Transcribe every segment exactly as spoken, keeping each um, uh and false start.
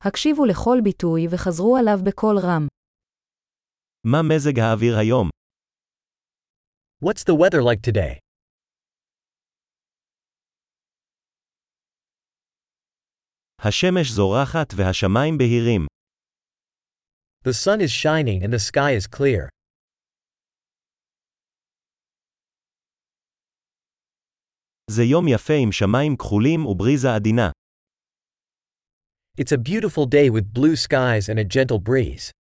הקשיבו לכל ביטוי וחזרו עליו בקול רם. מה מזג האוויר היום? What's the weather like today? השמש זורחת והשמיים בהירים. The sun is shining and the sky is clear. זה יום יפה עם שמיים כחולים ובריזה עדינה. It's a beautiful day with blue skies and a gentle breeze.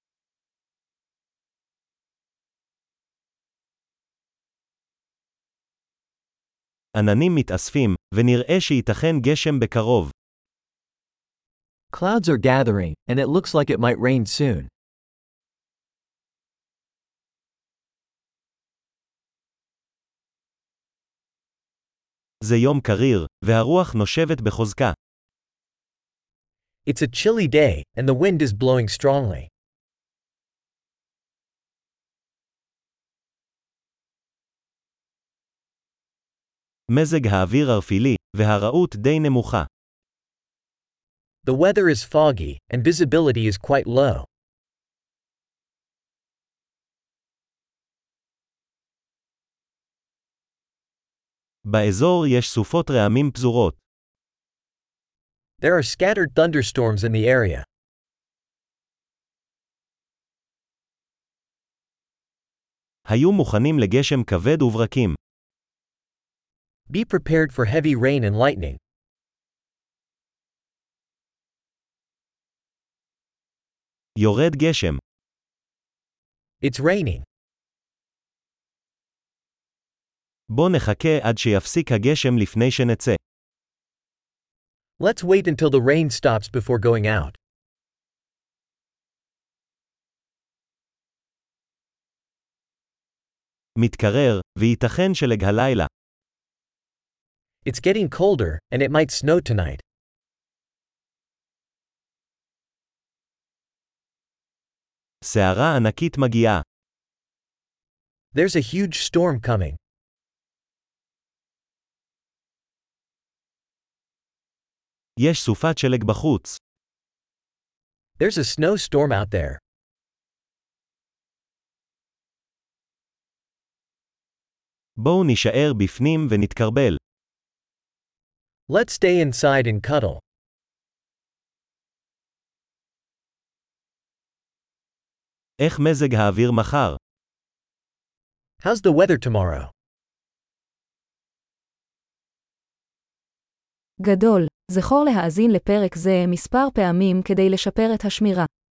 עננים מתאספים, ונראה שייתכן גשם בקרוב. Clouds are gathering, and it looks like it might rain soon. זה יום קריר, והרוח נושבת בחוזקה. It's a chilly day, and the wind is blowing strongly. מזג האוויר ערפילי, והרעות די נמוכה. The weather is foggy, and visibility is quite low. באזור יש סופות רעמים פזורות. There are scattered thunderstorms in the area. היו מוכנים לגשם כבד וברקים. Be prepared for heavy rain and lightning. יורד גשם. It's raining. בוא נחכה עד שיפסיק הגשם לפני שנצא. Let's wait until the rain stops before going out. מתקרר, וייתכן שלג הלילה. It's getting colder, and it might snow tonight. סערה ענקית מגיעה. There's a huge storm coming. יש סופת שלג בחוץ. There's a snowstorm out there. בואו נישאר בפנים ונתקרבל. Let's stay inside and cuddle. איך מזג האוויר מחר? How's the weather tomorrow? גדול, זכור להאזין לפרק זה מספר פעמים כדי לשפר את השמירה.